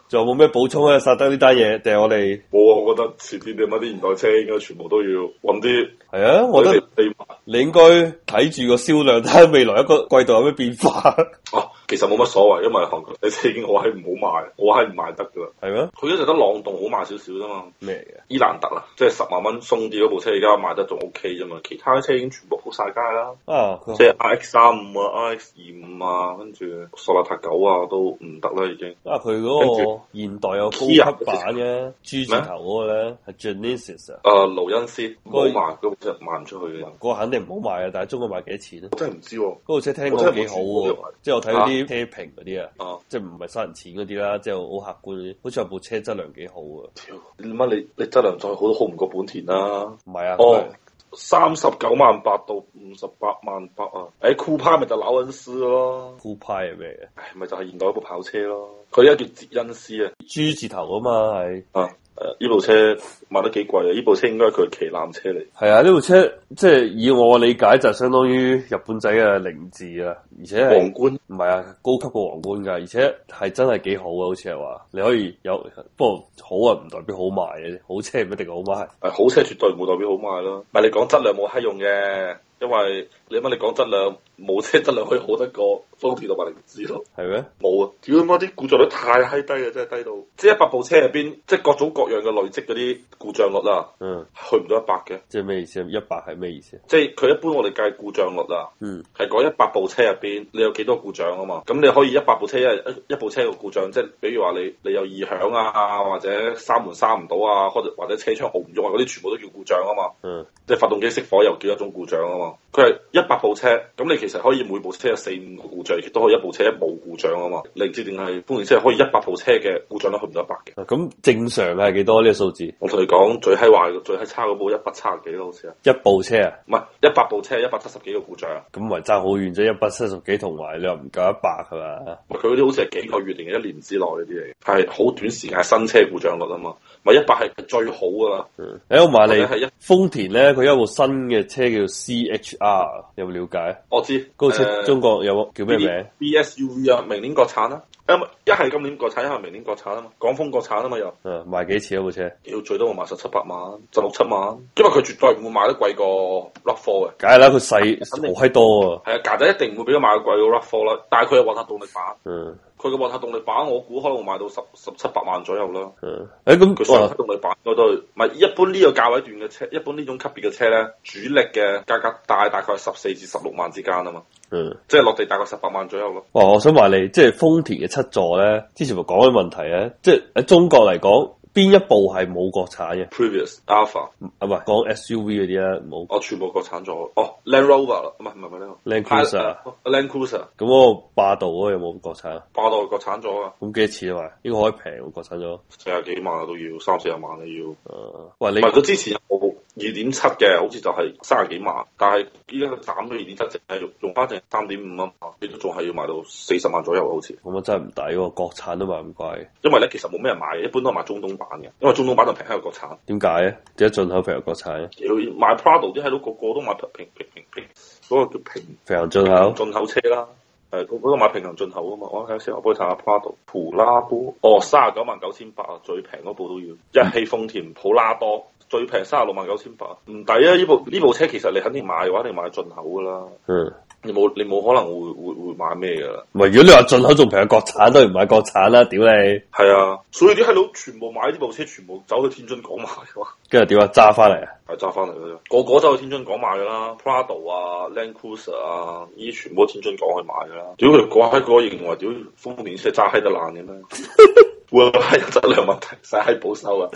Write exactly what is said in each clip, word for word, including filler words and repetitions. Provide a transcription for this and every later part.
仲有冇咩補充啊？薩德呢單嘢定係我哋？ 冇啊！我覺得遲啲點解啲現代車應該全部都要揾啲。 係啊，我覺得你應該睇住個銷量，睇下未來一個季度有咩變化。 哦、啊，其實冇乜所謂，因為韓國啲車已經好閪唔好賣，我閪唔賣得噶啦。係咩？佢一直得朗動好賣少少啫嘛。咩嘅？伊蘭特啊，即係十萬蚊鬆啲嗰部車，而家賣得仲 OK 啫嘛。其他車已經全部鋪晒街啦。啊，即係 R X 三五啊、R X 二五啊，跟住索納塔九啊都唔得啦已經。啊，佢嗰個現代有高級版嘅 G 字頭嗰個咧係 Genesis 啊。誒，勞恩斯冇賣，嗰部車賣唔出去嘅。嗰個肯定唔好賣啊！但係中國賣幾多錢咧？我真係唔知喎。嗰部車聽講幾好喎，即係我睇嗰啲車評嗰啲啊，即係唔係收人錢嗰啲啦，即係好客觀嗰啲，好似話部車質量幾好啊！乜你你質量再好都好唔過本田啦？唔係啊，哦，三十九萬八到五十八萬八啊！誒，酷派咪就勞恩斯咯，酷派係咩嘅？唉，咪就係現代一部跑車咯，佢而家叫捷恩斯啊 ，G 字頭啊嘛係啊。誒，呢部車賣得幾貴啊？呢部車應該係佢嘅旗艦車嚟。係啊，呢部車即係以我嘅理解就相當於日本仔嘅凌志啊，而且係皇冠唔係啊，高級過皇冠噶，而且係真係幾好啊，好似係話你可以有，不過好啊唔代表好賣嘅，好車唔一定好賣。誒，好車絕對唔會代表好賣咯。唔係你講質量冇閪用嘅，因為你乜你講質量，冇車質量可以好得過豐田同埋凌志咯。係咩？冇啊！屌媽啲故障率太閪低啊，真係低到，即係一百部車入邊，即係各種各樣嘅累積嗰啲故障率啦，嗯，去唔到一百嘅。即係咩意思啊？一百係咩意思？即係佢一般我哋計故障率啊，嗯，係講一百部車入邊你有幾多故障啊嘛？咁你可以一百部車一一部車嘅故障，即係比如話你你有異響啊，或者閂門閂唔到啊，或者或者車窗熬唔咗啊，嗰啲全部都叫故障啊嘛，嗯，即係發動機熄火又叫一種故障啊嘛。佢係一百部車，咁你其實可以每部車有四五個故障，亦都可以一部車冇故障啊嘛。凌志定係豐田車可以一百部車嘅故障率去唔到一百嘅。咁、啊、正常係幾多呢個數字？我同你講最閪壞、最閪差嗰部一百七十幾咯，好似啊。一部車啊？唔係一百部車，一百七十幾個故障。咁咪爭好遠啫，一百七十幾同埋你又唔夠一百係嘛？佢嗰啲好似係幾個月定係一年之內嗰啲嚟，係好短時間新車故障率啊嘛。咪一百係最好噶啦。嗯，誒我問你，係一豐田咧，佢有部新嘅車叫 C H R， 有冇了解？我知嗰部車、呃、中國有冇叫咩名 ？B S U V 啊，明年國產啊。一係今年國產，一係明年國產啊嘛，廣豐國產啊嘛又。嗯，賣幾錢啊部車？要最多我賣十七八萬，十六七萬。因為佢絕對唔會賣得貴過 R A V 四嘅。梗係啦，佢細好閪多啊。係啊，價仔一定唔會俾佢賣得貴過 R A V 四啦。但係佢有混合動力版。嗯。佢嘅混合動力版，我估可能會賣到十十七八萬左右啦。嗯。誒咁佢雙動力版我都唔係一般呢個價位段嘅車，一般呢種級別嘅車咧，主力嘅價格大大概係十四至十六萬之間啊嘛。嗯。即係落地大概十八萬左右咯。哇！我想話你，即係豐田嘅七座咧，之前咪講緊問題咧，即係喺中國嚟講，邊一部係冇國產嘅 ？Previous Alpha 啊，唔係講 S U V 嗰啲咧，冇。我全部國產咗。哦 Land Rover 唔係唔係唔係 Land Cruiser，Land Cruiser。咁嗰個霸道嗰個有冇國產啊？霸道國產咗啊。咁幾多錢啊？嘛，應該可以平喎，國產咗。四十幾萬啊都要，三四十萬你要。誒、呃，喂，你唔係佢之前有部二點七嘅，好似就係三十幾萬，但係依家佢斬咗二點七，淨係用用翻淨三點五啊，你都仲係要賣到四十萬左右好似。咁啊真係唔抵喎，國產都賣咁貴。因為咧其實冇咩人買嘅，一般都係買中東版嘅，因為中東版就平喺個國產。點解咧？點解進口平過國產咧？要買 Prado 啲喺度個個都買平平平平平，嗰、那個叫平平行進口進口車啦。誒，嗰嗰個買平行進口啊嘛，我睇下先，我幫你睇下 Prado 普拉多，哦，三十九萬九千八啊，最平嗰部都要。一汽豐田普拉多最平三十六萬九千八，唔抵啊！呢部呢部車其實你肯定買嘅話，一定買進口噶啦。嗯，你冇你冇可能會會會買咩噶啦？唔係，如果你話進口仲平過國產，都唔買國產啦，屌你！係啊，所以啲閪佬全部買呢部車，全部走去天津港買嘅。跟住點啊？揸翻嚟啊？係揸翻嚟嘅啫，個個走去天津港買噶啦 ，Prado 啊、Land Cruiser 啊，呢啲全部天津港去買噶啦。屌佢講喺個認為，屌豐田車揸閪得爛嘅咩？會係有質量問題，使閪保修啊！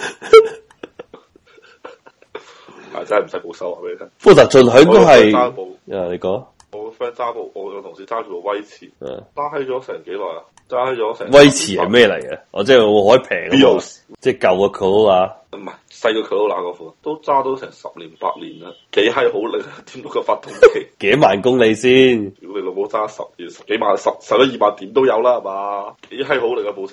係真係唔使保修啊！俾你聽，福特進口應該係揸部，啊你講，我個 friend 揸部，我個同事揸住部威馳，揸閪咗成幾耐啊？揸閪咗成威馳係咩嚟嘅？我即係我可以平，Bios 即係舊個 Corolla，唔係細個 Corolla 嗰款，都揸到成十年八年啦，幾閪好力啊！點到個發動機幾萬公里先？如果你老母揸十年十幾萬十十一二萬點都有啦，係嘛？幾閪好力啊部車！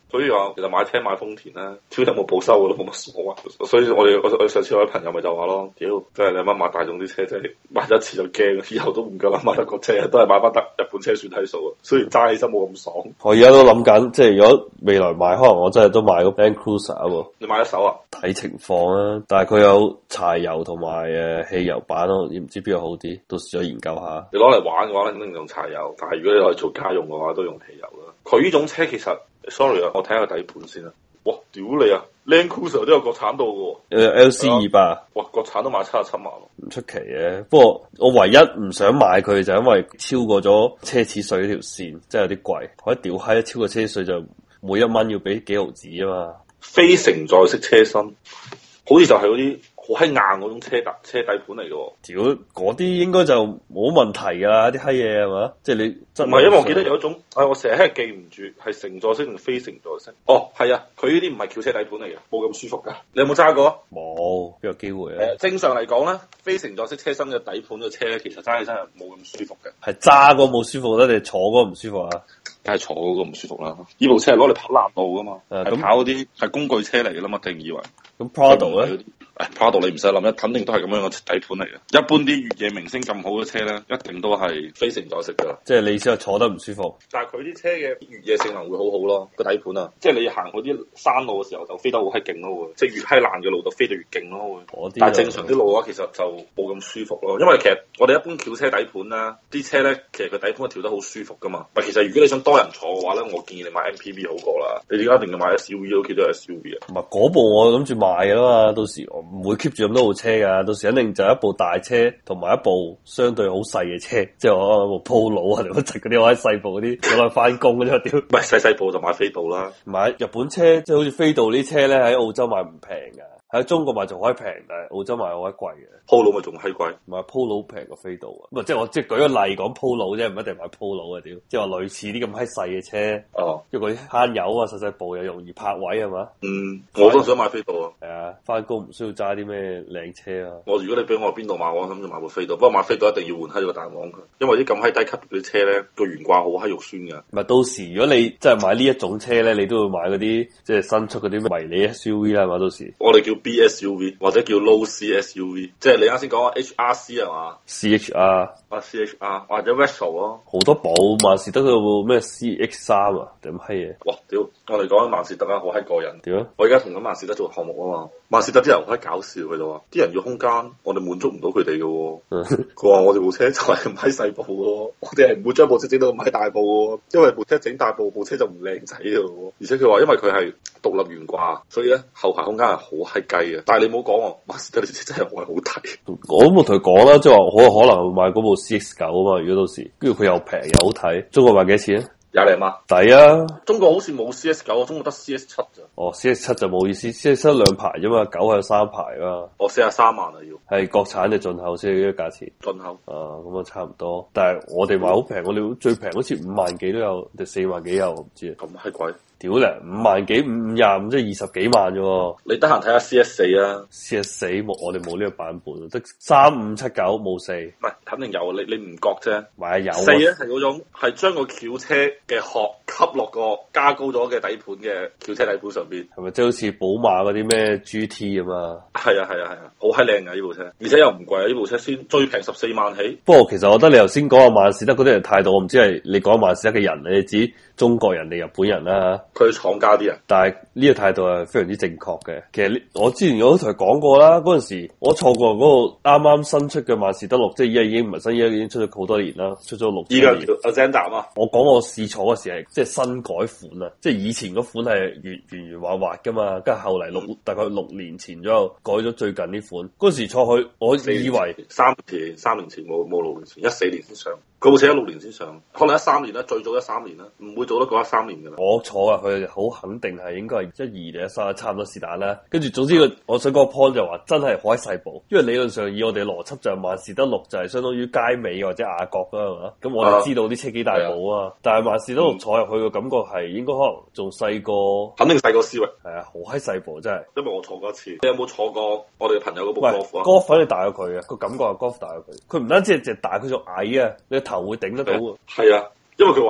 所以話其實買車買豐田咧，超有冇保修嘅都冇乜所謂。所以我哋我我上次我啲朋友咪就話咯，屌，即係你阿媽買大眾啲車真係買一次就驚，以後都唔夠膽買得個車，都係買翻得日本車算係數啊。雖然揸起身冇咁爽。 我而家都諗緊，即係如果未來買，可能我真係都買個 Land Cruiser 喎。 你買一手啊？ 睇情況啊，但係佢有柴油同埋誒汽油版咯，唔知邊個好啲，到時再研究下。 你攞嚟玩嘅話，肯定用柴油，但係如果你攞嚟做家用嘅話，都用汽油啦。佢呢種車其實 ，sorry 啊，我睇下底盤先啦。哇，屌你啊 ！Land Cruiser 都有國產度嘅喎。 誒 L C 二百。 哇，國產都賣七十七萬。 唔出奇嘅，不過我唯一唔想買佢就因為超過咗奢侈稅呢條線，真係有啲貴。我一屌閪，超過奢侈稅就每一蚊要俾幾毫子啊嘛。 非承載式車身，好似就係嗰啲好閪硬嗰種車底車底盤嚟嘅。 屌，嗰啲應該就冇問題噶啦，啲閪嘢係嘛？即係你唔係，因為我記得有一種，哎，我成日係記唔住係承載式定非承載式。哦，係啊，佢呢啲唔係轎車底盤嚟嘅，冇咁舒服噶。你有冇揸過？ 冇，邊有機會啊？ 誒，正常嚟講咧，非承載式車身嘅底盤嘅車咧，其實揸起身係冇咁舒服嘅。 係揸嗰冇舒服咧，定坐嗰唔舒服啊？ 梗係坐嗰個唔舒服啦。呢部車係攞嚟跑難路噶嘛，係、嗯、跑嗰啲係工具車嚟嘅啦嘛，定以為。 咁 Prado 咧？ 誒 Prado 你唔使諗，一肯定都係咁樣嘅底盤嚟嘅。一般啲越野明星咁好嘅車咧，一定都係非承載式噶啦。即係你意思係坐得唔舒服？ 但係佢啲車嘅越野性能會好好咯，個底盤啊，即係你行嗰啲山路嘅時候就飛得好閪勁咯會，即係越閪爛嘅路就飛得越勁咯會。但係正常啲路嘅話，其實就冇咁舒服咯。因為其實我哋一般轎車底盤啦，啲車咧其實佢底盤係調得好舒服噶嘛。但其實如果你想多人坐嘅話咧，我建議你買 M P V 好過啦。你而家一定要買 S U V，屋企都係 S U V 啊。 唔係嗰部我諗住買嘅啦嘛，到時我唔會 keep 住咁多部車噶，到時肯定就一部大車同埋一部相對好細嘅車，即係我部 Polo 啊，定乜柒嗰啲我喺細部嗰啲攞嚟翻工嗰啲屌。唔係細細部就買飛度啦， 買日本車即係好似飛度呢啲車咧喺澳洲買唔平噶。喺中國買仲可以平，但係澳洲買好鬼貴嘅。Polo 咪仲閪貴， 買 Polo 平過飛度啊！唔係即係我即係舉個例講 Polo 啫，唔一定買 Polo 啊屌！即係話類似啲咁閪細嘅車，哦，因為嗰啲慳油啊，細細部又容易泊位係嘛？ 嗯，我都想買飛度啊。 係啊，翻工唔需要揸啲咩靚車啊。 我如果你俾我邊度買，我諗住買部飛度。不過買飛度一定要換閪咗個彈簧佢，因為啲咁閪低級嗰啲車咧個懸掛好閪肉酸㗎。唔係到時如果你真係買呢一種車咧，你都會買嗰啲即係新出嗰啲迷你 S U V 啦，係嘛？到時我哋叫 B S U V 或者叫 Low C S U V， 即係你啱先講嘅 H R C 係嘛 ？C H R 啊 C H R 或者 Retro 咯， 好多部萬事得佢部咩 C X 三啊，定乜閪嘢？ 哇屌！我哋講緊萬事得啊，好閪過癮。 點啊？ 我而家同緊萬事得做項目啊嘛。萬事得啲人好閪搞笑，佢就話啲人要空間，我哋滿足唔到佢哋嘅。佢話我哋部車就係咁閪細部嘅，我哋係唔會將部車整到咁閪大部嘅，因為部車整大部，部車就唔靚仔嘅。而且佢話因為佢係獨立懸掛，所以咧後排空間係好閪雞嘅。但係你唔好講喎，萬事得啲車真係好係好睇。 我冇同佢講啦，即係話可可能會買嗰部 C X 九啊嘛。如果到時跟住佢又平又好睇，中國賣幾多錢啊？ 廿零萬抵啊！ 中國好似冇 C S 九，中國得 C S 七咋？哦 ，C S 七就冇意思，C S 七兩排啫嘛，九係有三排啊。 哦，四十三萬啊要。係國產定進口先呢個價錢？ 進口。 啊，咁啊差唔多。但係我哋買好平，我哋最平好似五萬幾都有，定四萬幾有，我唔知啊。 咁閪貴？ 屌咧，五萬幾五五廿五，即係二十幾萬啫。 你得閒睇下 C S 四啊 ？C S 四冇，我哋冇呢個版本，得三五七九冇四。唔係，肯定有，你你唔覺啫。 買有。 四咧係嗰種係將個轎車嘅殼吸落個加高咗嘅底盤嘅轎車底盤上邊。 係咪即係好似寶馬嗰啲咩 G T 咁啊？ 係啊係啊係啊，好閪靚啊呢部車，而且又唔貴啊呢部車先最平十四萬起。 不過其實我覺得你頭先講阿萬事得嗰啲人態度，我唔知係你講萬事得嘅人，你指中國人定日本人啦？ 佢廠家啲人， 但係呢個態度係非常之正確嘅。其實我之前我都同佢講過啦，嗰陣時我坐過嗰個啱啱新出嘅萬事得六，即係依家已經唔係新，依家已經出咗好多年啦，出咗六。 依家叫 Azenda 啊！ 我講我試坐嗰時係即係新改款啊，即係以前嗰款係圓圓圓滑滑噶嘛，跟住後嚟六、嗯、大概六年前左右改咗最近呢款。嗰時坐去，我以為三年三年前冇冇六年前，一四年先上。佢部車一六年先上，可能一三年啦，最早一三年啦，唔會做得過一三年噶啦。 我坐啊，佢好肯定係應該係一二定一三，差唔多是但啦。跟住總之個，我想講個 point 就話真係好閪細部，因為理論上以我哋邏輯就係萬事得六就係相當於街尾或者亞閣啦，係嘛？咁我哋知道啲車幾大部啊，但係萬事得六坐入去個感覺係應該可能仲細過， 肯定細過思域。 係啊，好閪細部真係。 因為我坐過一次，你有冇坐過我哋朋友嗰部 Golf 啊 ？Golf 反而大過佢啊，個感覺係 Golf 大過佢。佢唔單止係只大，佢仲矮啊，你個頭會頂得到啊。 係啊，因為佢話要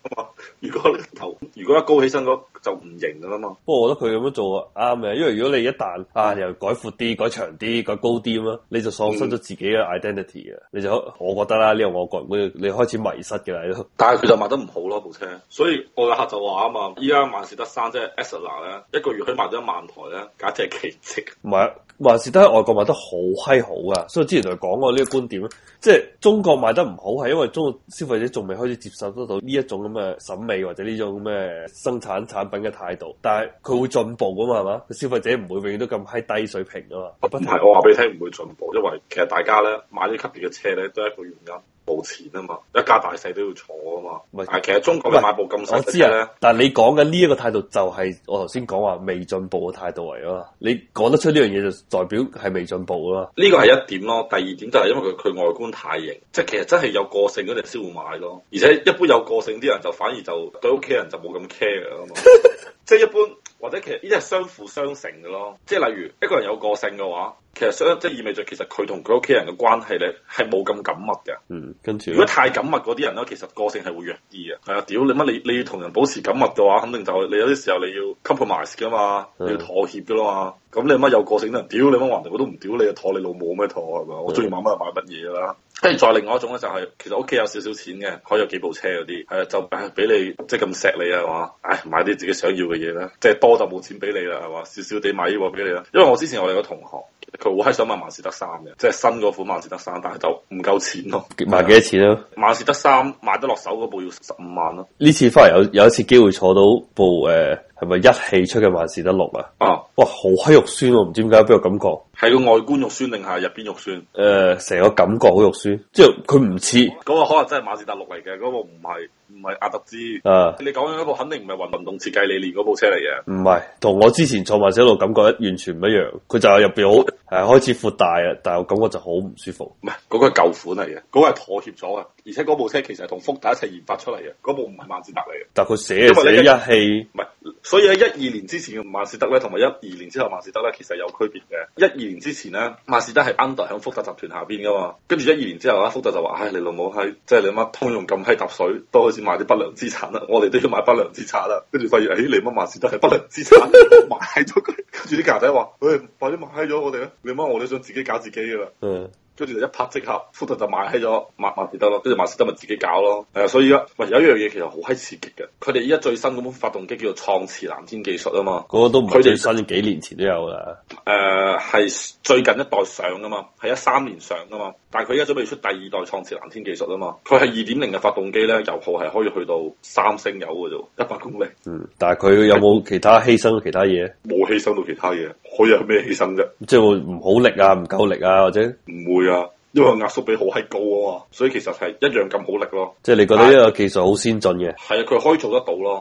如果你頭如果一高起身嗰就唔型噶啦嘛。 不過我覺得佢咁樣做啱嘅，因為如果你一旦啊又改闊啲、改長啲、改高啲咁樣，你就喪失咗自己嘅 identity 啊、嗯！你就我覺得啦，呢個我個人會你開始迷失嘅啦。 但係佢就賣得唔好咯部車，所以我嘅客就話啊嘛，依家萬事得三即係 Tesla 咧，一個月可以賣到一萬台咧，簡直係奇蹟。 唔係，萬事得喺外國賣得好閪好噶，所以之前同佢講過呢個觀點，即係中國賣得唔好係因為中國消費者仲未開始接受得到呢一種咁嘅審美或者呢種咁嘅生產產品嘅態度，但係佢會進步噶嘛，係嘛？消費者唔會永遠都咁閪低水平噶嘛。 唔係，我話俾你聽唔會進步，因為其實大家咧買呢級別嘅車咧都係一個原因。冇錢啊嘛，一家大細都要坐啊嘛。唔係，其實中國嘅買部咁細嘅車咧， 但係你講緊呢一個態度就係我頭先講話未進步嘅態度嚟啊嘛。你講得出呢樣嘢就代表係未進步啊嘛。 呢個係一點咯，第二點就係因為佢佢外觀太型，即係其實真係有個性嗰啲人先會買咯。而且一般有個性啲人就反而就對屋企人就冇咁 care 啊嘛。即係一般或者其實呢啲係相輔相成嘅咯。即係例如一個人有個性嘅話。其實相即係意味著，其實佢同佢屋企人嘅關係咧係冇咁緊密嘅。 嗯，跟住如果太緊密嗰啲人咧，其實個性係會弱啲嘅。係啊，屌你乜你你要同人保持緊密嘅話，肯定就係你有啲時候你要 compromise 噶嘛，嗯、你要妥協噶啦嘛。咁你乜有個性啲人，屌你乜橫掂我都唔屌你，妥你老母咩妥係嘛？我中意買乜就買乜嘢啦。跟住再另外一種咧，就係其實屋企有少少錢嘅，可以有幾部車嗰啲，係啊，就誒俾你即係咁錫你啊嘛，唉買啲自己想要嘅嘢啦，即係多就冇錢俾你啦，係嘛，少少地買呢個俾你啦。因為我之前我哋個同學，佢好閪想買萬事得三嘅，即係新嗰款萬事得三，但係就唔夠錢咯。 買幾多錢啊？ 萬事得三買得落手嗰部要十五萬咯。 呢次翻嚟有有一次機會坐到部誒係咪一汽出嘅萬事得六啊？啊，哇好閪肉酸喎，唔知點解俾我感覺係個外觀肉酸定係入邊肉酸？ 誒，成個感覺好肉酸，即係佢唔似嗰個可能真係萬事得六嚟嘅，嗰部唔係唔係阿特茲。啊，你講緊嗰部肯定唔係運運動設計理念嗰部車嚟嘅。唔係， 同我之前坐萬事得六感覺完全唔一樣。佢就係入邊好係開始闊大啊，但係我感覺就好唔舒服。 唔係，嗰個係舊款嚟嘅，嗰個係妥協咗嘅，而且嗰部車其實係同福特一齊研發出嚟嘅，嗰部唔係萬事得嚟嘅。 但係佢寫寫一汽， 唔係，所以喺一二年之前嘅萬事得咧，同埋一二年之後萬事得咧，其實有區別嘅。一二年之前咧，萬事得係 under 響福特集團下邊噶嘛，跟住一二年之後咧，福特就話：唉，你老母閪，即係你乜通用咁閪揼水，都開始買啲不良資產啦，我哋都要買不良資產啦。跟住發現，唉，你乜萬事得係不良資產，買咗佢。跟住啲架仔話：喂，快啲買咗我哋啦！你乜我哋想自己搞自己噶啦。嗯。跟住就一拍即合，福特就買起咗萬萬事得咯，跟住萬事得咪自己搞咯。係啊，所以而家喂有一樣嘢其實好閪刺激嘅，佢哋依家最新嗰款發動機叫做創馳藍天技術啊嘛， 嗰個都唔係最新，幾年前都有啦。 誒係、呃、最近一代上噶嘛，係一三年上噶嘛，但係佢而家準備出第二代創馳藍天技術啊嘛，佢係二點零嘅發動機咧，油耗係可以去到三升油嘅啫，一百公里。嗯，但係佢有冇其他犧牲其他嘢？冇犧牲到其他嘢，可以有咩犧牲啫？即係會唔好力啊，唔夠力啊，或者唔會啊？因為壓縮比好閪高啊嘛，所以其實係一樣咁好力咯。即係你覺得呢個技術好先進嘅？係啊，佢可以做得到咯。